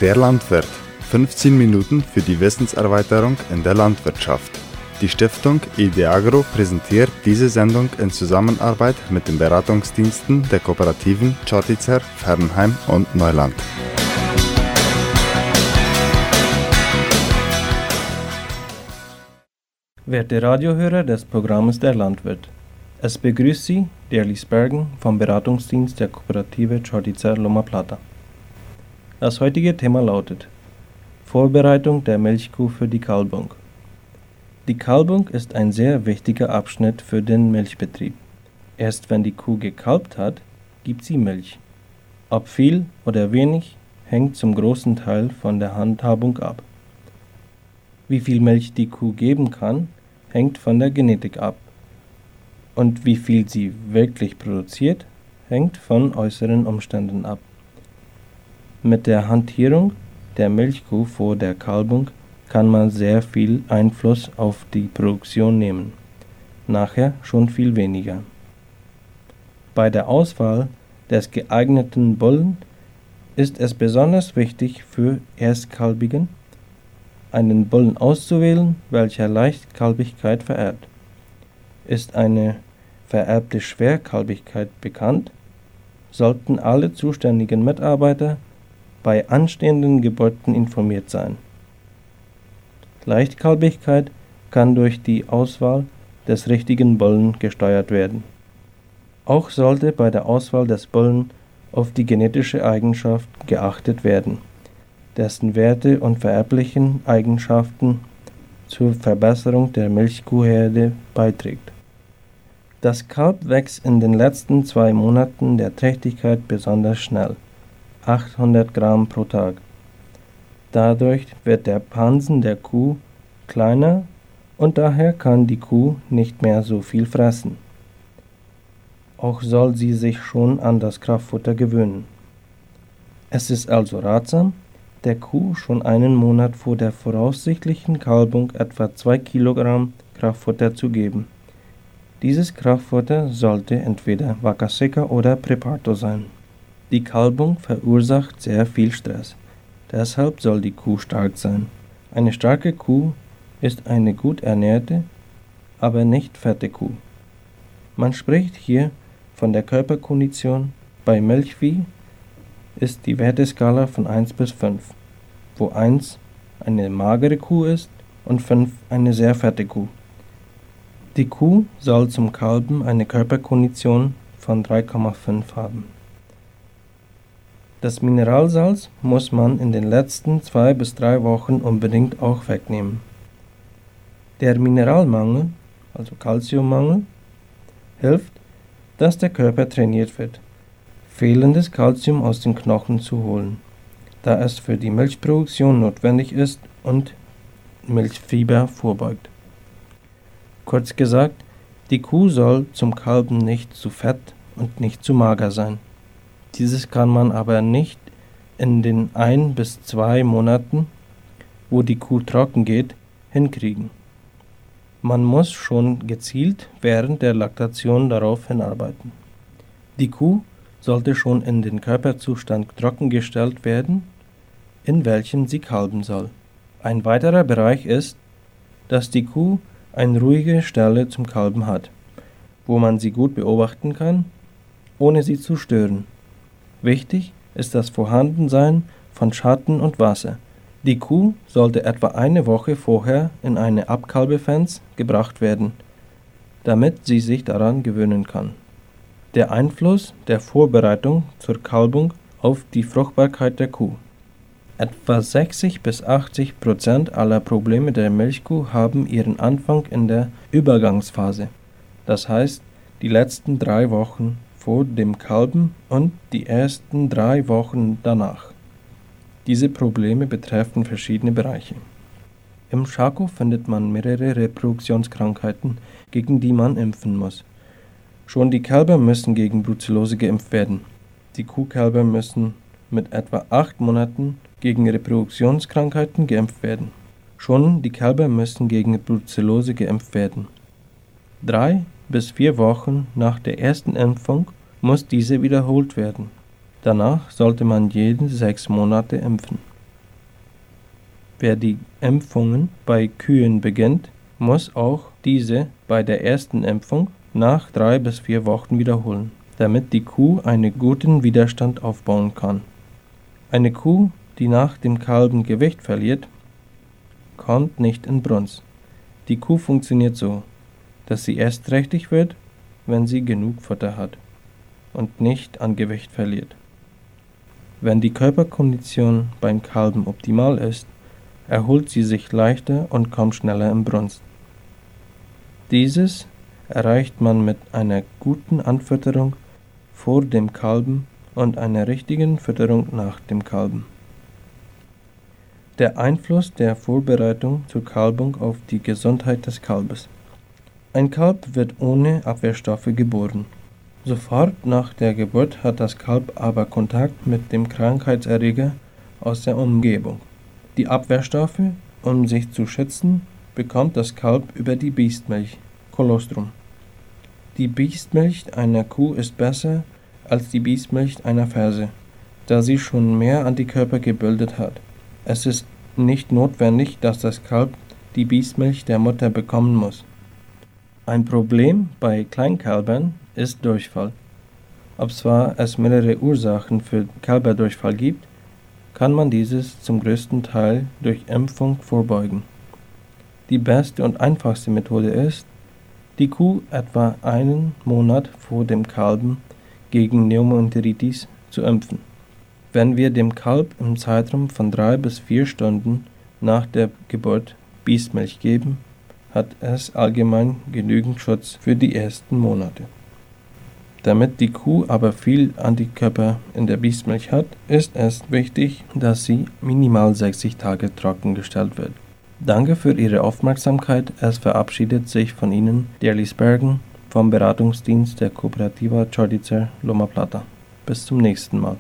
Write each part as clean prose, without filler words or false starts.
Der Landwirt. 15 Minuten für die Wissenserweiterung in der Landwirtschaft. Die Stiftung IDEAGRO präsentiert diese Sendung in Zusammenarbeit mit den Beratungsdiensten der Kooperativen Čotice, Fernheim und Neuland. Werte Radiohörer des Programms Der Landwirt. Es begrüßt Sie, der Liesbergen vom Beratungsdienst der Kooperative Čotice Loma Plata. Das heutige Thema lautet: Vorbereitung der Milchkuh für die Kalbung. Die Kalbung ist ein sehr wichtiger Abschnitt für den Milchbetrieb. Erst wenn die Kuh gekalbt hat, gibt sie Milch. Ob viel oder wenig, hängt zum großen Teil von der Handhabung ab. Wie viel Milch die Kuh geben kann, hängt von der Genetik ab. Und wie viel sie wirklich produziert, hängt von äußeren Umständen ab. Mit der Hantierung der Milchkuh vor der Kalbung kann man sehr viel Einfluss auf die Produktion nehmen, nachher schon viel weniger. Bei der Auswahl des geeigneten Bullen ist es besonders wichtig für Erstkalbigen, einen Bullen auszuwählen, welcher Leichtkalbigkeit vererbt. Ist eine vererbte Schwerkalbigkeit bekannt, sollten alle zuständigen Mitarbeiter bei anstehenden Geburten informiert sein. Leichtkalbigkeit kann durch die Auswahl des richtigen Bullen gesteuert werden. Auch sollte bei der Auswahl des Bullen auf die genetische Eigenschaft geachtet werden, dessen Werte und vererblichen Eigenschaften zur Verbesserung der Milchkuhherde beiträgt. Das Kalb wächst in den letzten 2 Monaten der Trächtigkeit besonders schnell, 800 Gramm pro Tag. Dadurch wird der Pansen der Kuh kleiner und daher kann die Kuh nicht mehr so viel fressen. Auch soll sie sich schon an das Kraftfutter gewöhnen. Es ist also ratsam, der Kuh schon einen Monat vor der voraussichtlichen Kalbung etwa 2 Kilogramm Kraftfutter zu geben. Dieses Kraftfutter sollte entweder Vaca Seca oder Prepato sein. Die Kalbung verursacht sehr viel Stress. Deshalb soll die Kuh stark sein. Eine starke Kuh ist eine gut ernährte, aber nicht fette Kuh. Man spricht hier von der Körperkondition. Bei Milchvieh ist die Werteskala von 1 bis 5, wo 1 eine magere Kuh ist und 5 eine sehr fette Kuh. Die Kuh soll zum Kalben eine Körperkondition von 3,5 haben. Das Mineralsalz muss man in den letzten 2 bis 3 Wochen unbedingt auch wegnehmen. Der Mineralmangel, also Calciummangel, hilft, dass der Körper trainiert wird, fehlendes Calcium aus den Knochen zu holen, da es für die Milchproduktion notwendig ist und Milchfieber vorbeugt. Kurz gesagt, die Kuh soll zum Kalben nicht zu fett und nicht zu mager sein. Dieses kann man aber nicht in den 1 bis 2 Monaten, wo die Kuh trocken geht, hinkriegen. Man muss schon gezielt während der Laktation darauf hinarbeiten. Die Kuh sollte schon in den Körperzustand trockengestellt werden, in welchem sie kalben soll. Ein weiterer Bereich ist, dass die Kuh eine ruhige Stelle zum Kalben hat, wo man sie gut beobachten kann, ohne sie zu stören. Wichtig ist das Vorhandensein von Schatten und Wasser. Die Kuh sollte etwa eine Woche vorher in eine Abkalbefenster gebracht werden, damit sie sich daran gewöhnen kann. Der Einfluss der Vorbereitung zur Kalbung auf die Fruchtbarkeit der Kuh. Etwa 60 bis 80% aller Probleme der Milchkuh haben ihren Anfang in der Übergangsphase, das heißt die letzten 3 Wochen vor dem Kalben und die ersten 3 Wochen danach. Diese Probleme betreffen verschiedene Bereiche. Im Schako findet man mehrere Reproduktionskrankheiten, gegen die man impfen muss. Schon die Kälber müssen gegen Brucellose geimpft werden. Die Kuhkälber müssen mit etwa 8 Monaten gegen Reproduktionskrankheiten geimpft werden. Schon die Kälber müssen gegen Brucellose geimpft werden. 3 bis 4 Wochen nach der ersten Impfung muss diese wiederholt werden. Danach sollte man jede 6 Monate impfen. Wer die Impfungen bei Kühen beginnt, muss auch diese bei der ersten Impfung nach 3 bis 4 Wochen wiederholen, damit die Kuh einen guten Widerstand aufbauen kann. Eine Kuh, die nach dem Kalben Gewicht verliert, kommt nicht in Brunst. Die Kuh funktioniert so, dass sie erst trächtig wird, wenn sie genug Futter hat und nicht an Gewicht verliert. Wenn die Körperkondition beim Kalben optimal ist, erholt sie sich leichter und kommt schneller in Brunst. Dieses erreicht man mit einer guten Anfütterung vor dem Kalben und einer richtigen Fütterung nach dem Kalben. Der Einfluss der Vorbereitung zur Kalbung auf die Gesundheit des Kalbes. Ein Kalb wird ohne Abwehrstoffe geboren. Sofort nach der Geburt hat das Kalb aber Kontakt mit dem Krankheitserreger aus der Umgebung. Die Abwehrstoffe, um sich zu schützen, bekommt das Kalb über die Biestmilch, Kolostrum. Die Biestmilch einer Kuh ist besser als die Biestmilch einer Ferse, da sie schon mehr Antikörper gebildet hat. Es ist nicht notwendig, dass das Kalb die Biestmilch der Mutter bekommen muss. Ein Problem bei Kleinkälbern ist Durchfall. Ob zwar es mehrere Ursachen für Kälberdurchfall gibt, kann man dieses zum größten Teil durch Impfung vorbeugen. Die beste und einfachste Methode ist, die Kuh etwa einen Monat vor dem Kalben gegen Pneumoenteritis zu impfen. Wenn wir dem Kalb im Zeitraum von 3 bis 4 Stunden nach der Geburt Biestmilch geben, hat es allgemein genügend Schutz für die ersten Monate. Damit die Kuh aber viel Antikörper in der Biestmilch hat, ist es wichtig, dass sie minimal 60 Tage trockengestellt wird. Danke für Ihre Aufmerksamkeit. Es verabschiedet sich von Ihnen der Liesbergen vom Beratungsdienst der Cooperativa Chordicer Loma Plata. Bis zum nächsten Mal.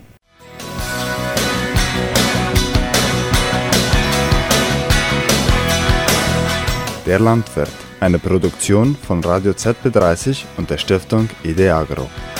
Der Landwirt, eine Produktion von Radio ZB30 und der Stiftung IDEAGRO.